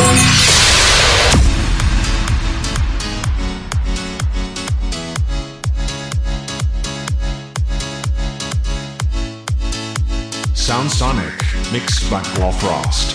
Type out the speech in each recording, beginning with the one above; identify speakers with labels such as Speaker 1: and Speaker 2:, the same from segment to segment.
Speaker 1: Sound Sonic, mixed by Paul Frost.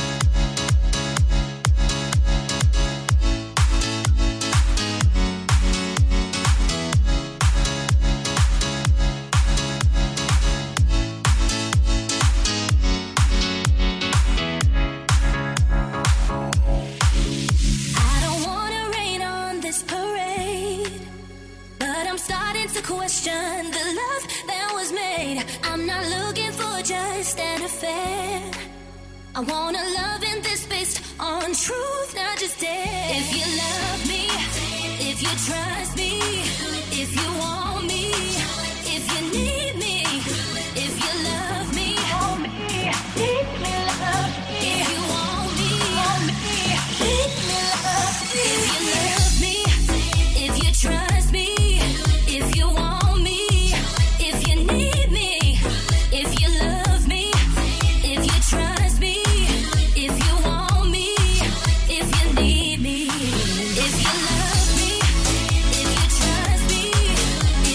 Speaker 2: Question the love that was made. I'm not looking for just an affair. I want a love in this based on truth, not just dare. If you love me, if you trust me, if you want me, if you need me, if you love me, need me, love me. If you want me, need me, love me. If you love me, if you trust me, if you want me, if you need me, if you love me, if you trust me, if you want me, if you need me, if you love me, if you trust me,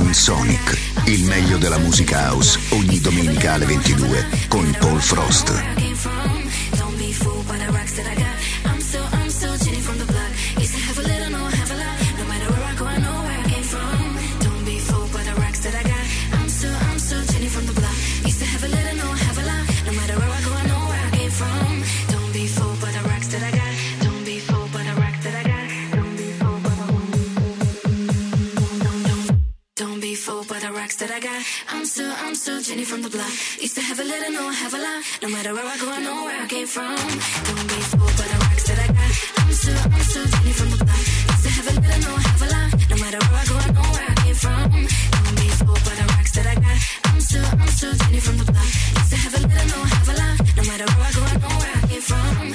Speaker 3: Sound Sonic, il meglio della musica house, ogni domenica alle 22 con Paul Frost.
Speaker 2: I'm so Jenny from the block. Used to have a little, no, have a lot. No matter where I go, I know where I came from. Don't be fooled by the rocks that I got. I'm so Jenny from the block. Used to have a little, no, have a lot. No matter where I go, I know where I came from. Don't be fooled by the rocks that I got. I'm so Jenny from the block. Used to have a little, no, have a lot. No matter where I go, I know where I came from.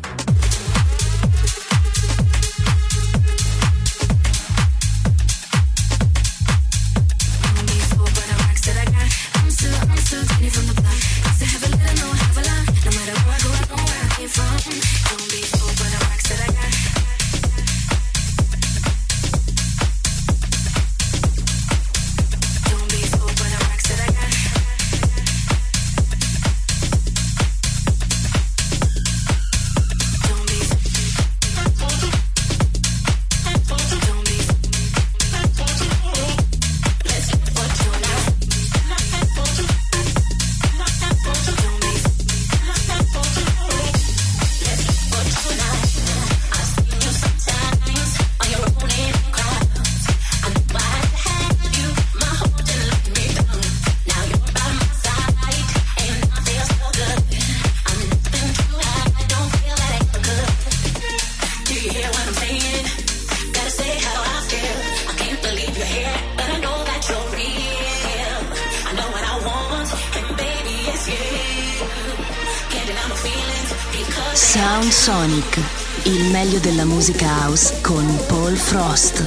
Speaker 4: Sound Sonic, il meglio della musica house con Paul Frost.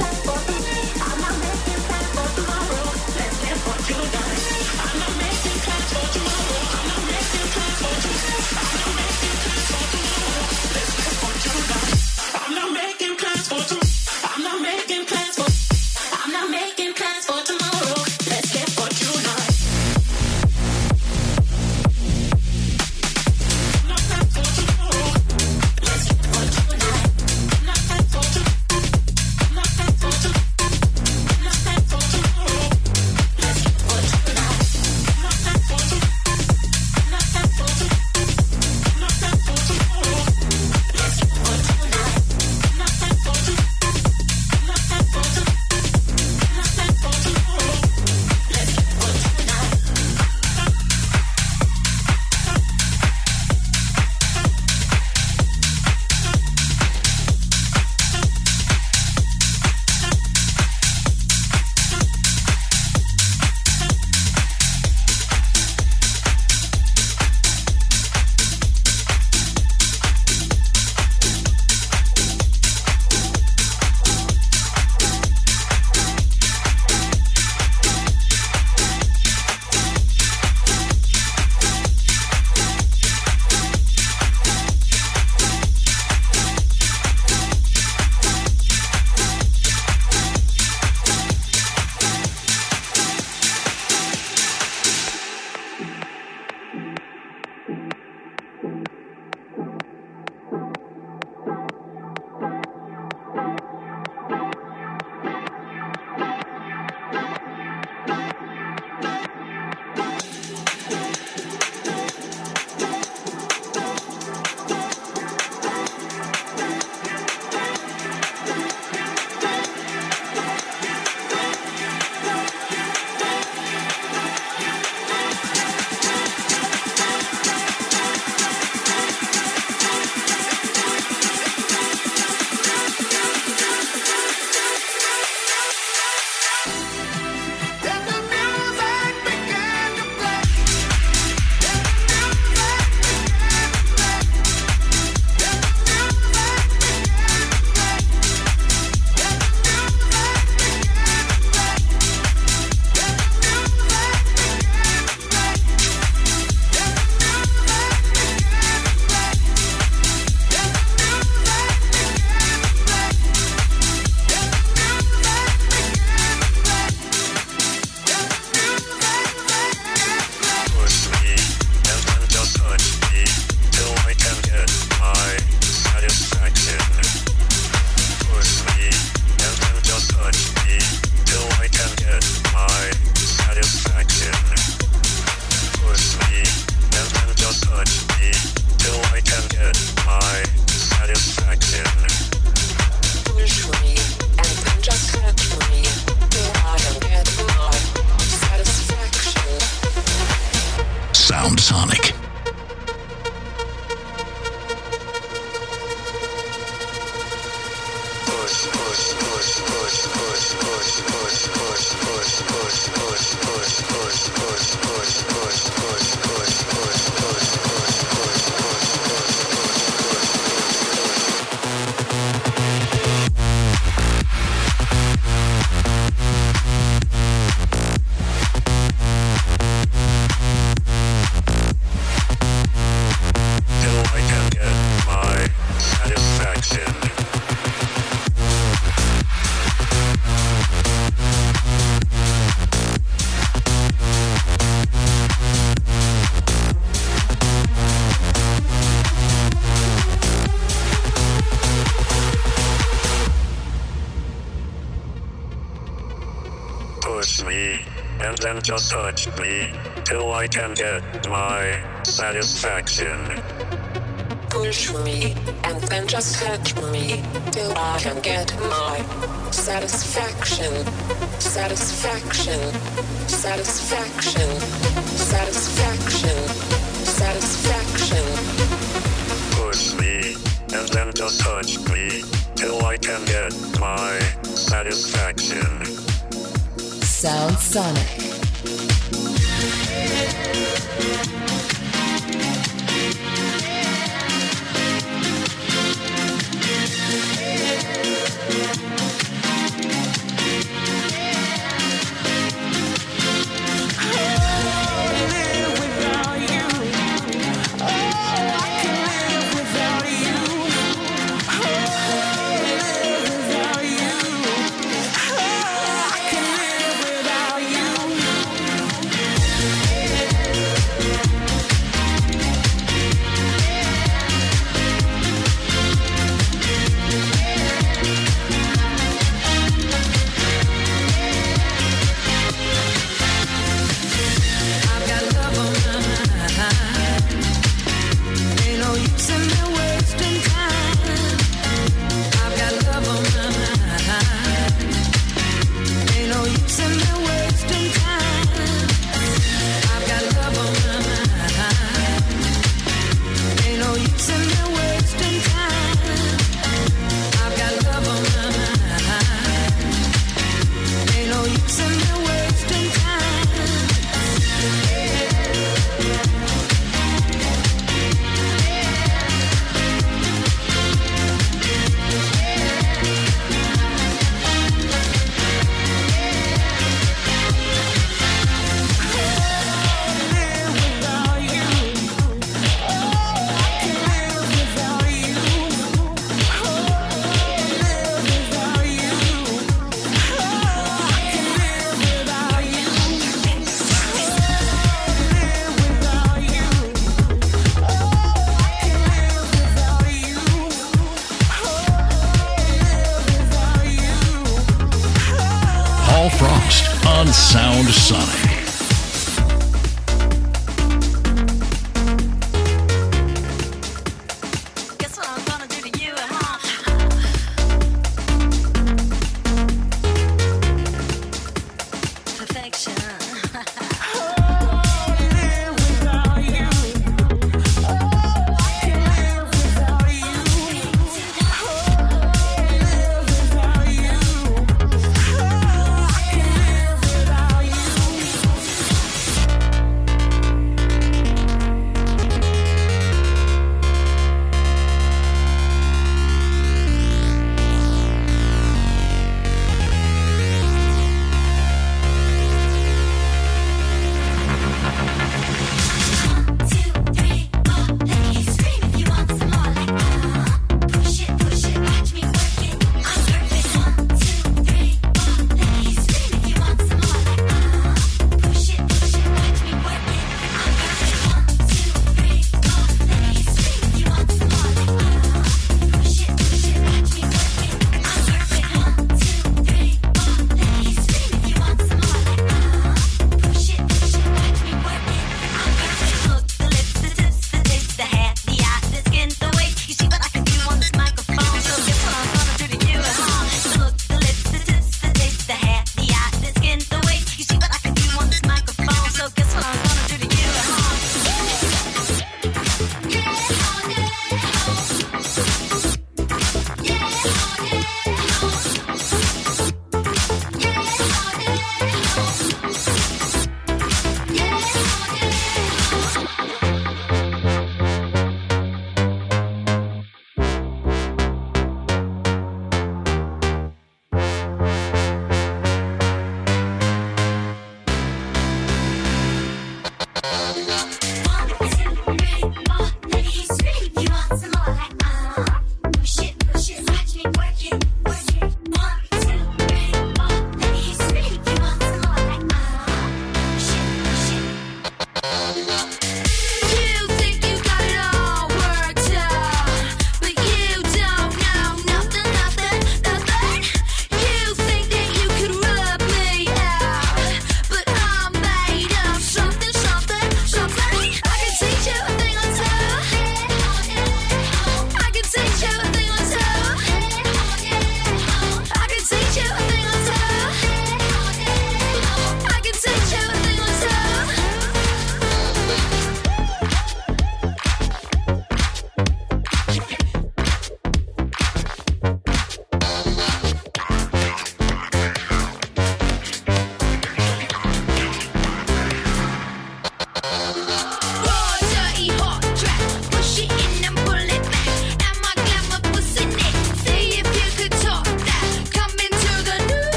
Speaker 2: Let's
Speaker 5: Sonic.
Speaker 6: Then just touch me till I can get my satisfaction.
Speaker 7: Push me and then just touch me till I can get my satisfaction. Satisfaction. Satisfaction. Satisfaction. Satisfaction.
Speaker 6: Push me and then just touch me till I can get my satisfaction.
Speaker 8: Sound Sonic.
Speaker 5: Frost on Sound Sonic.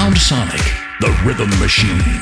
Speaker 5: Sound Sonic, the rhythm machine.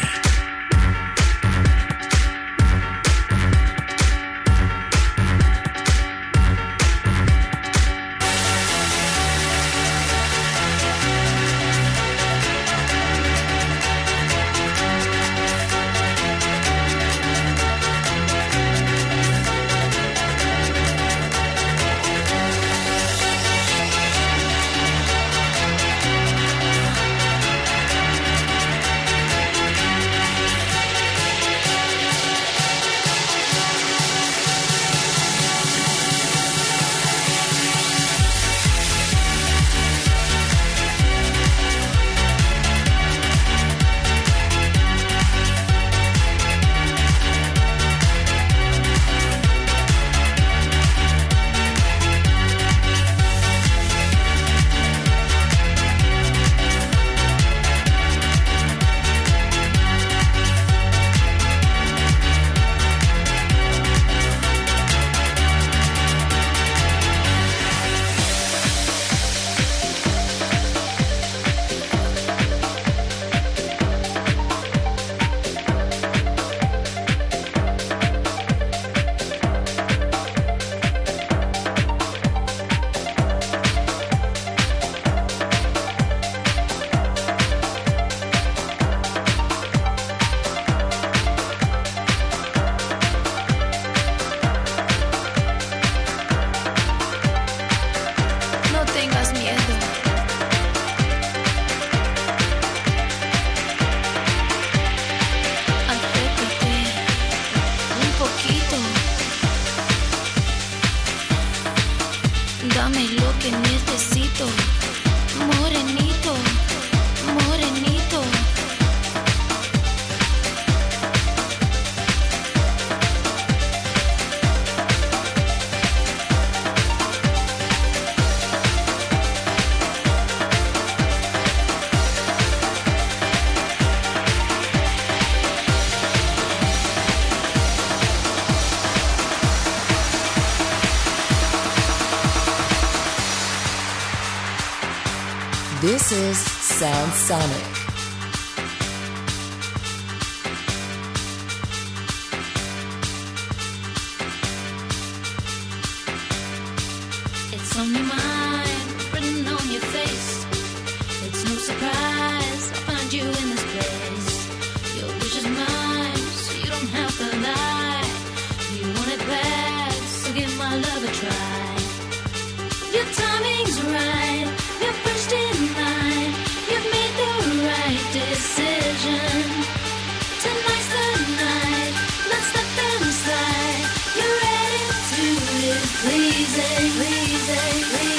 Speaker 8: This is Sound Sonic.
Speaker 2: It's on your mind, written on your face. It's no surprise I find you in this place. Your wish is mine, so you don't have to lie. You want it bad, so give my love a try. Your timing's right, you're first in line. You've made the right decision. Tonight's the night, let's let them slide. You're ready to live, pleasing, pleasing, pleasing.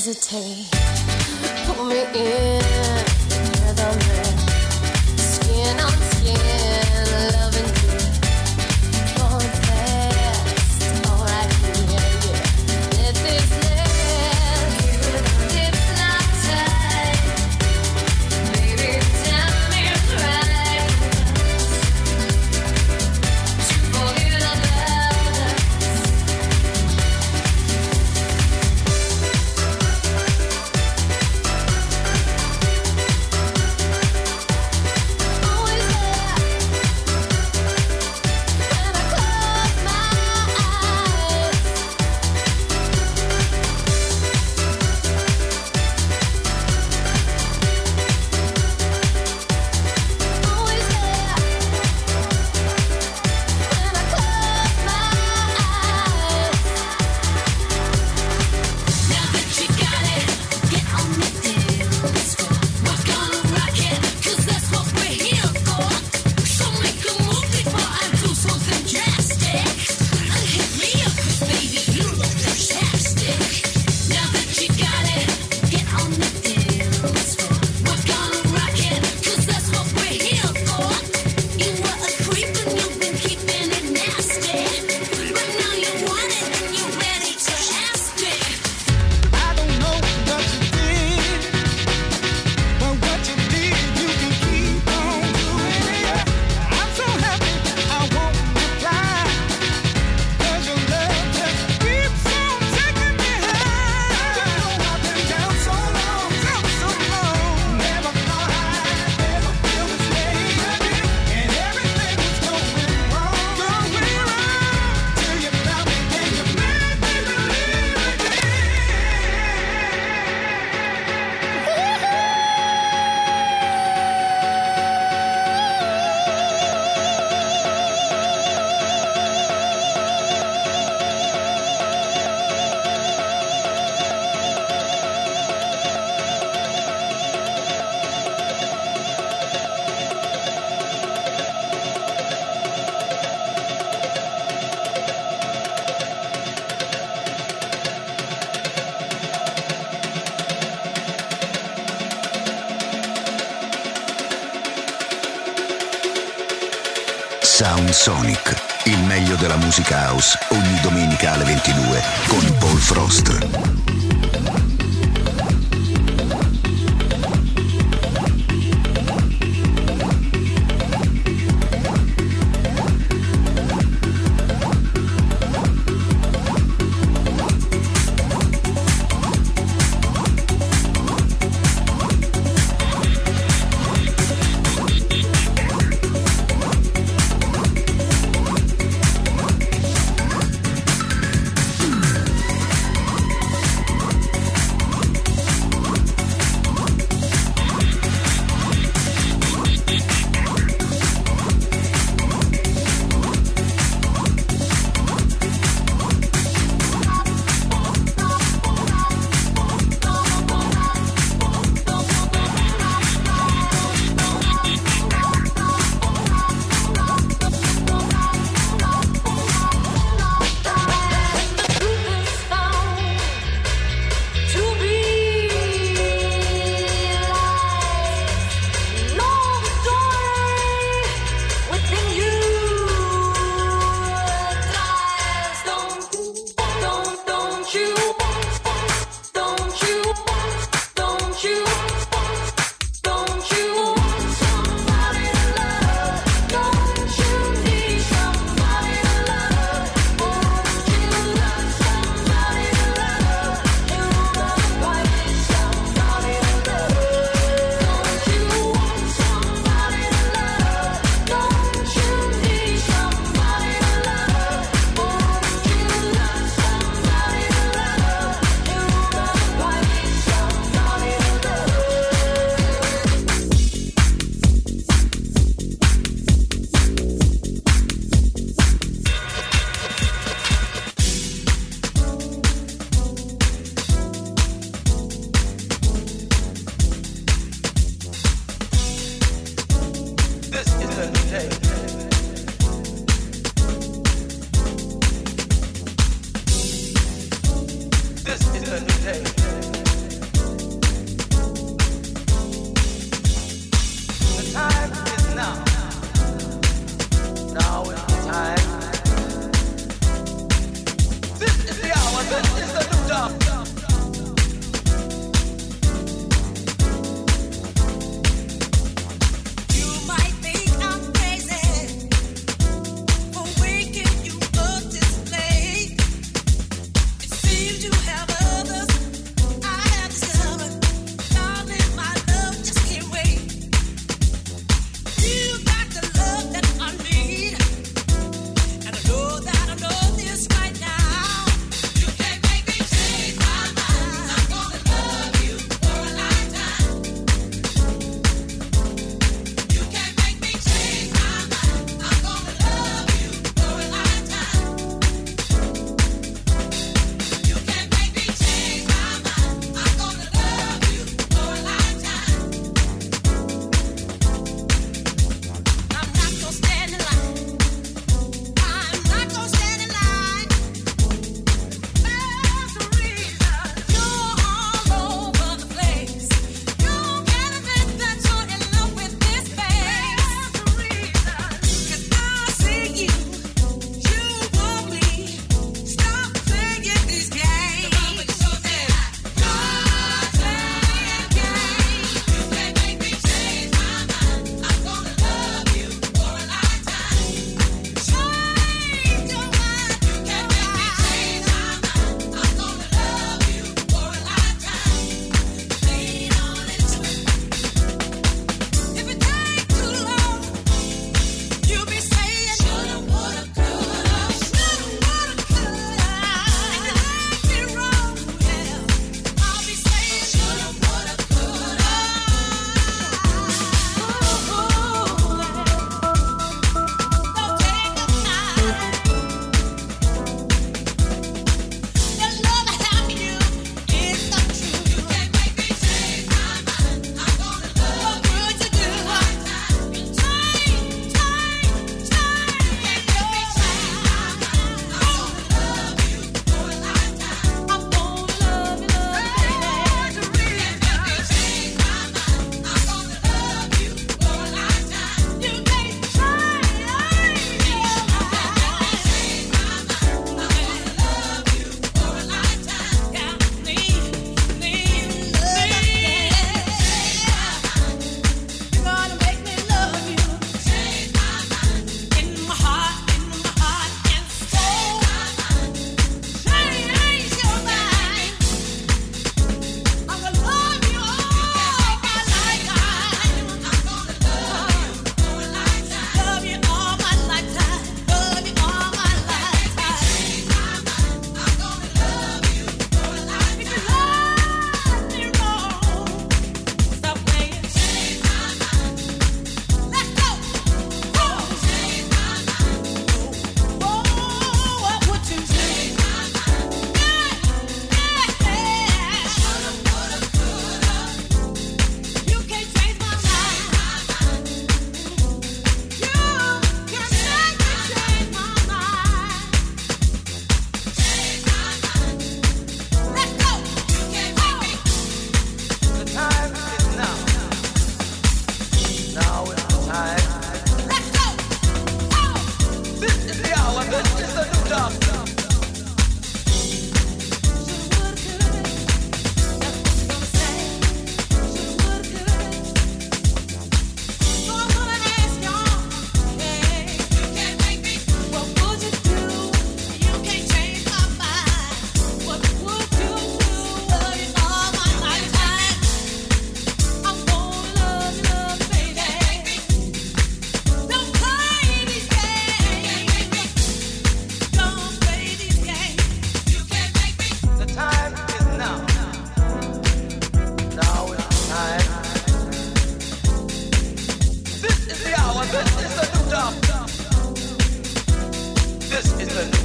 Speaker 2: hesitate. Pull me in, together, man. Skin on skin, loving you. Going fast, alright, yeah, yeah. This is last, it's not time. Baby, time is right to forget about us. Always there when I close my eyes. Always there when I close my eyes. Now that you got it, get on the dance floor. We're gonna rock it, 'cause that's what we're here for. So make a move before I do something drastic. Hit me up, 'cause baby, you look fantastic. Now that you got it, get on the dance floor. We're gonna rock it, 'cause that's what we're here for. You were a creep and you've been keeping it nasty. But now you want it and you're ready to ask it.
Speaker 9: I don't know what you did, but what you did, you can keep on doing it. I'm so happy I won't reply, 'cause your love just keeps on taking me high. You know I've been down so long, never thought I'd ever feel this way again. And everything was going wrong, till you found me and you made me believe again.
Speaker 3: Sound Sonic, il meglio della musica house, ogni domenica alle 22 con Paul Frost.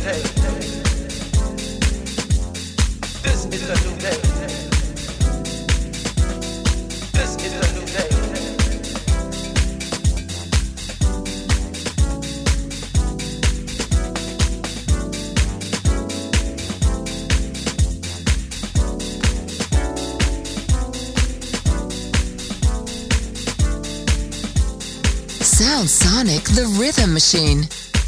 Speaker 10: day. This is the new day. This is the new day.
Speaker 8: Sound Sonic, the rhythm machine.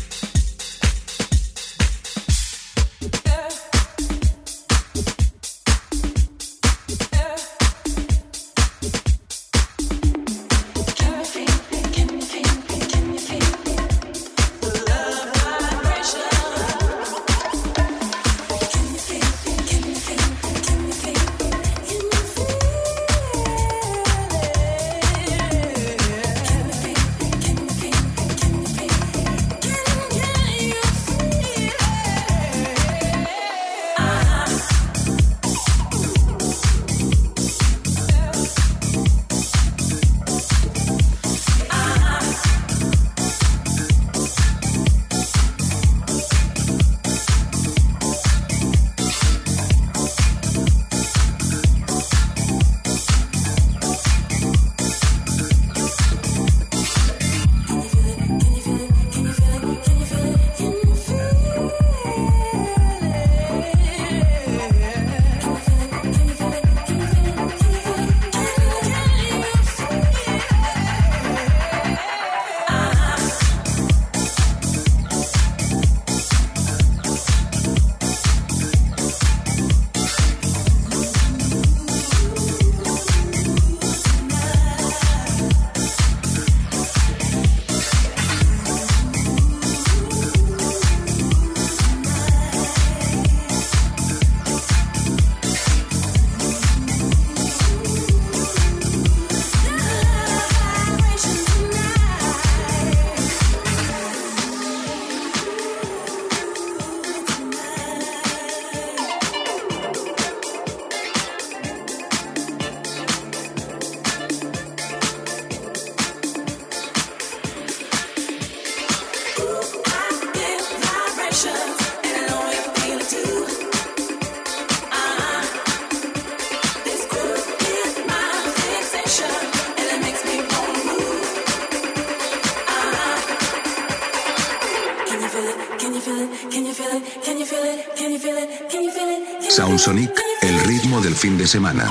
Speaker 3: Sound Sonic, el ritmo del fin de semana.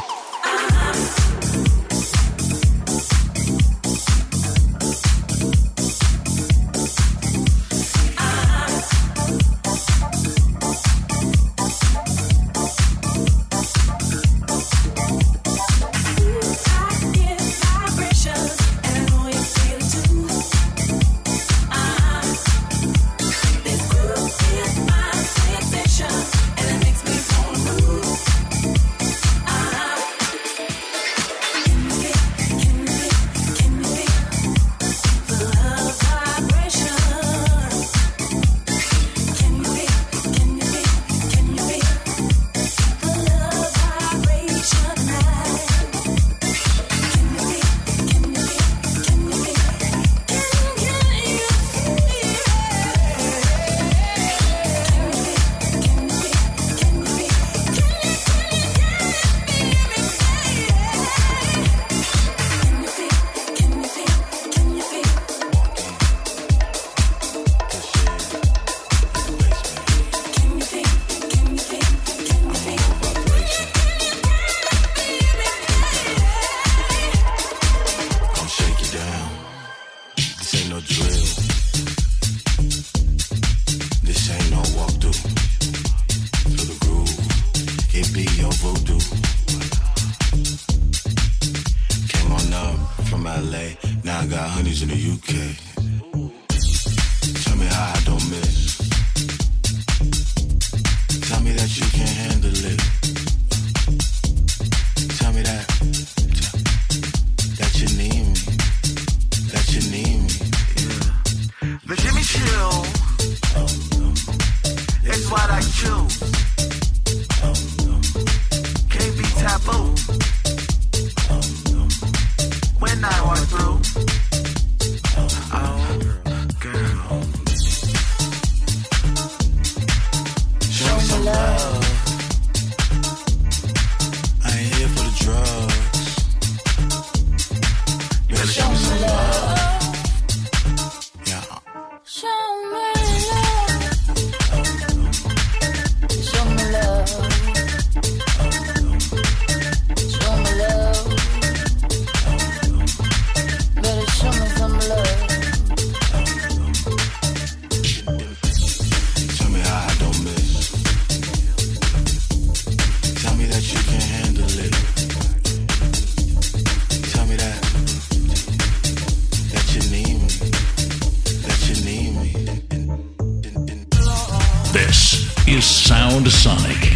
Speaker 5: Sound Sonic.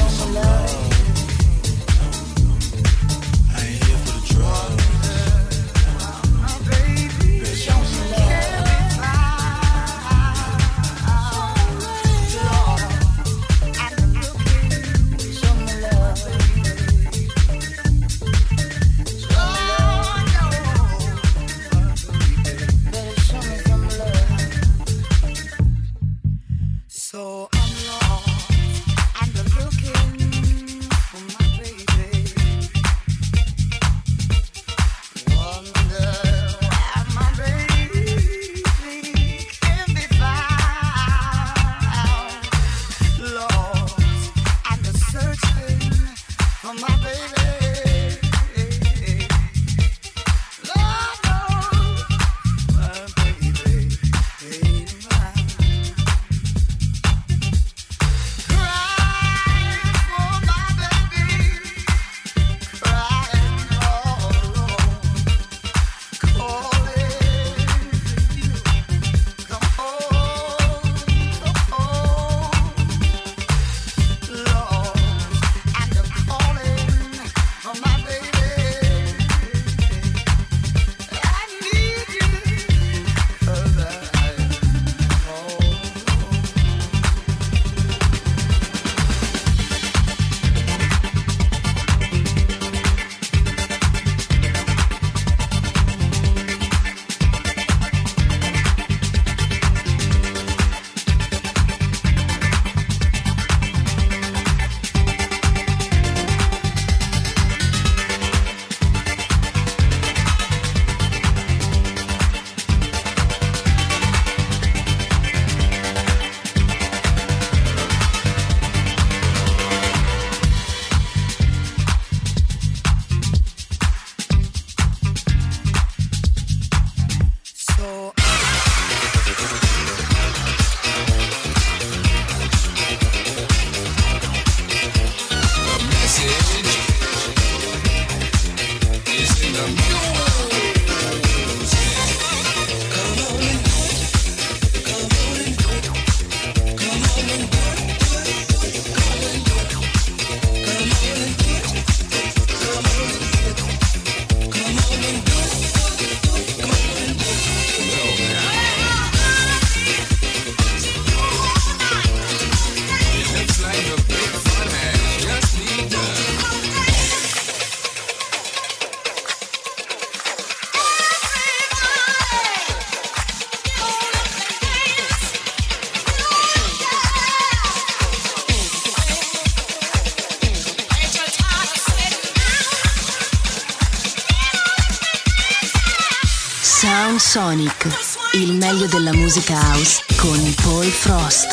Speaker 4: Sound Sonic, il meglio della musica house con Paul Frost.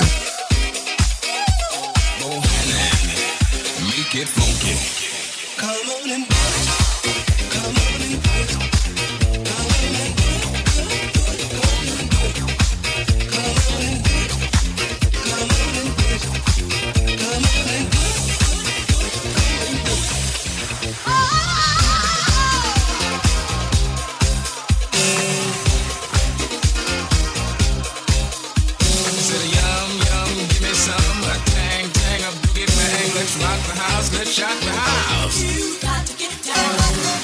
Speaker 11: Make it funky. Come on and come on and let's shock the house. You got to get down.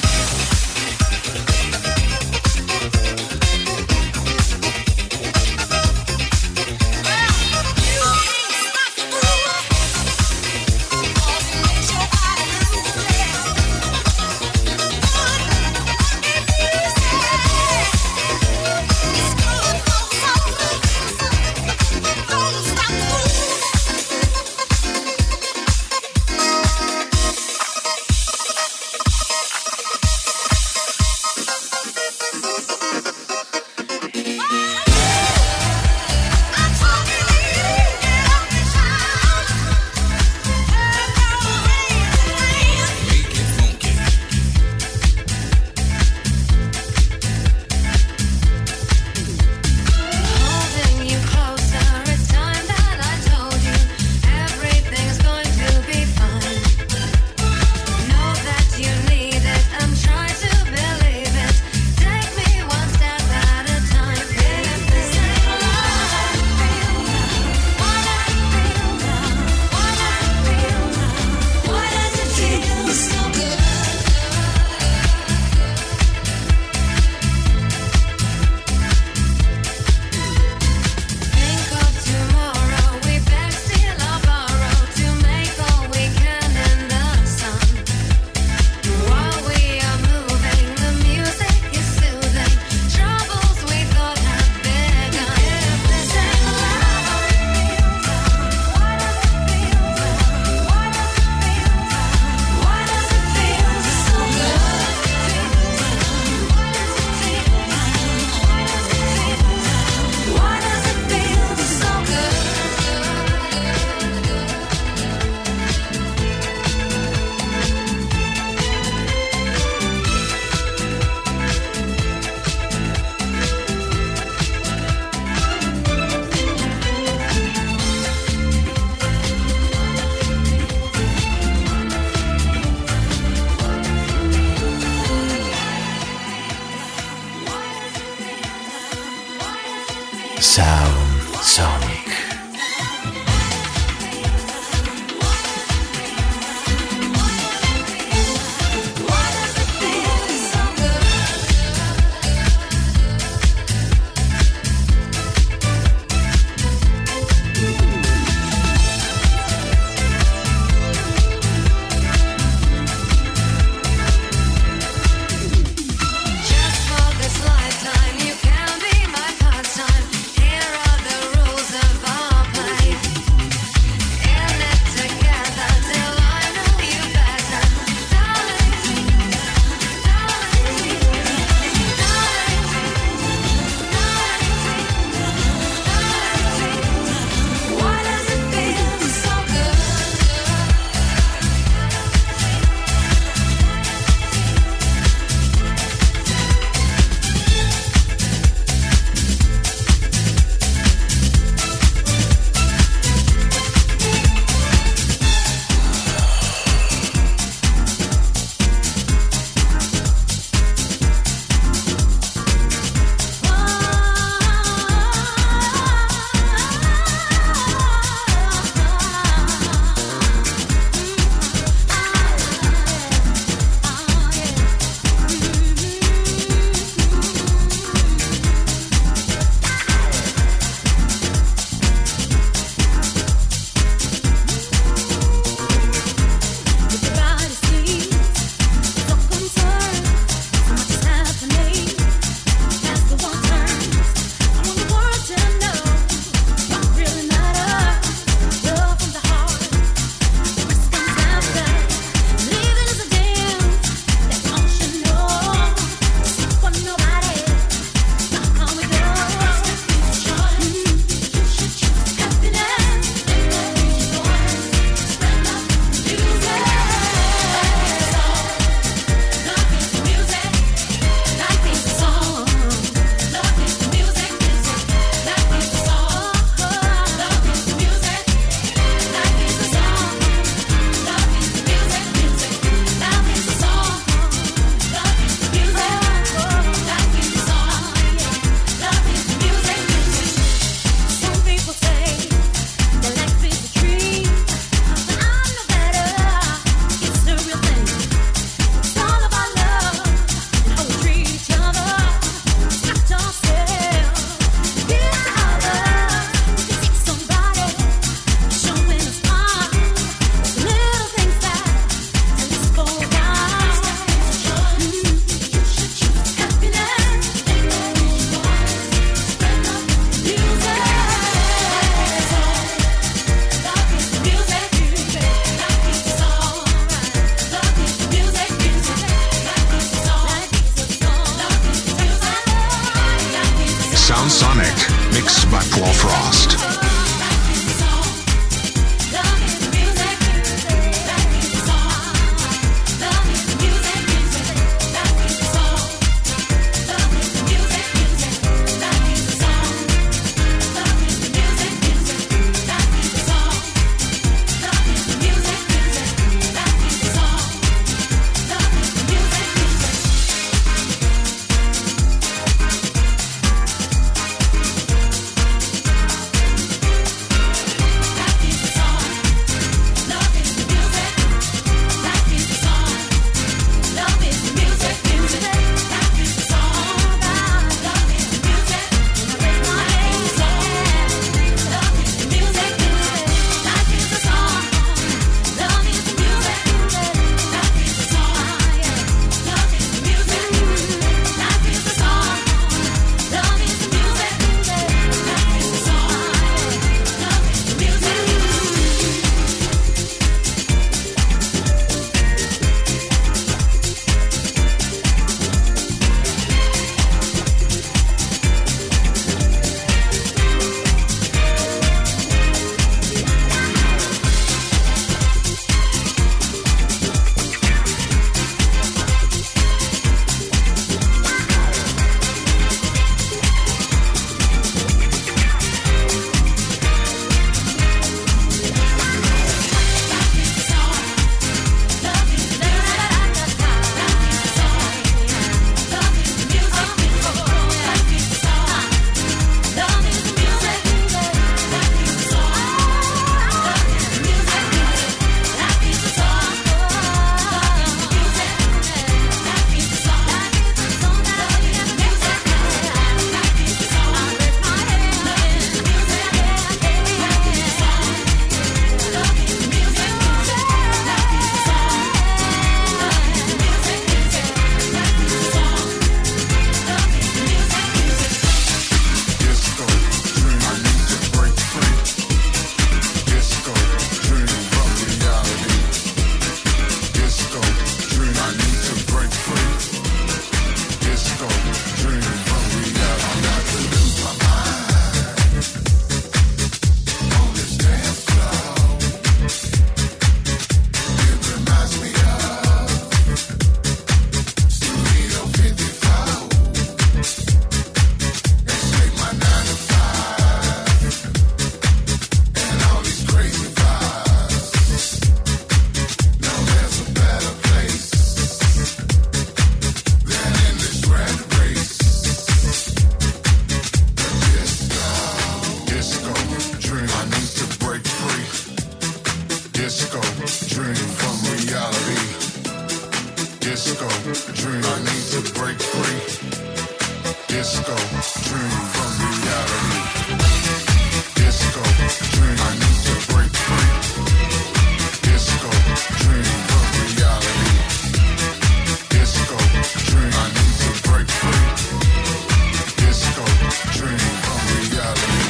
Speaker 12: Disco, dream from reality. Disco, dream, I need to break free. Disco, dream from reality. Disco, dream, I need to break free. Disco, dream from reality. Disco, dream, I need to break free. Disco, dream from reality.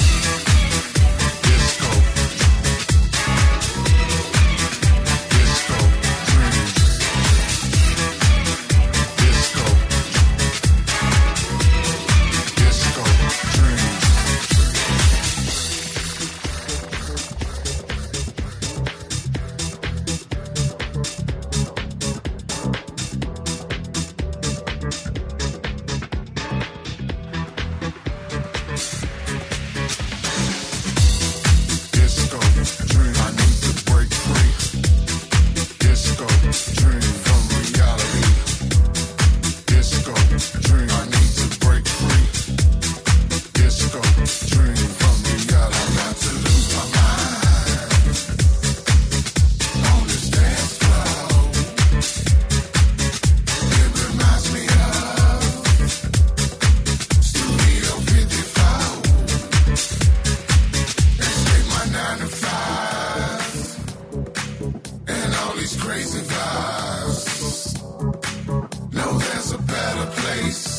Speaker 12: Disco, disco, dream. Disco, disco, dream. Disco, dream, I need to break free. Disco, dream from reality. Disco, dream, I need to break free. Disco, dream from reality. I got to lose my mind on this dance floor. It reminds me of Studio 54. Escape my 9 to 5 and all these crazy vibes. No, there's a better place.